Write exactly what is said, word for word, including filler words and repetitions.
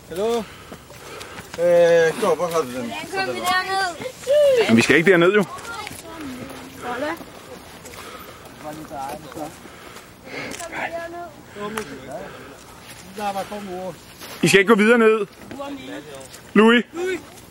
Hallo? Øh, stå, hvor har du den? Hvordan kom vi derned? Men vi skal ikke derned, jo. I skal ikke gå videre ned. Louis.